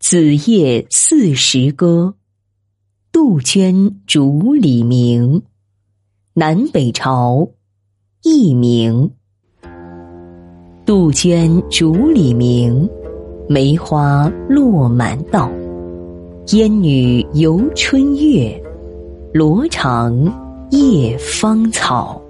子夜40歌，杜鹃竹里鸣。南北朝，佚名。杜鹃竹里鸣，梅花落满道。烟女游春月，罗裳夜芳草。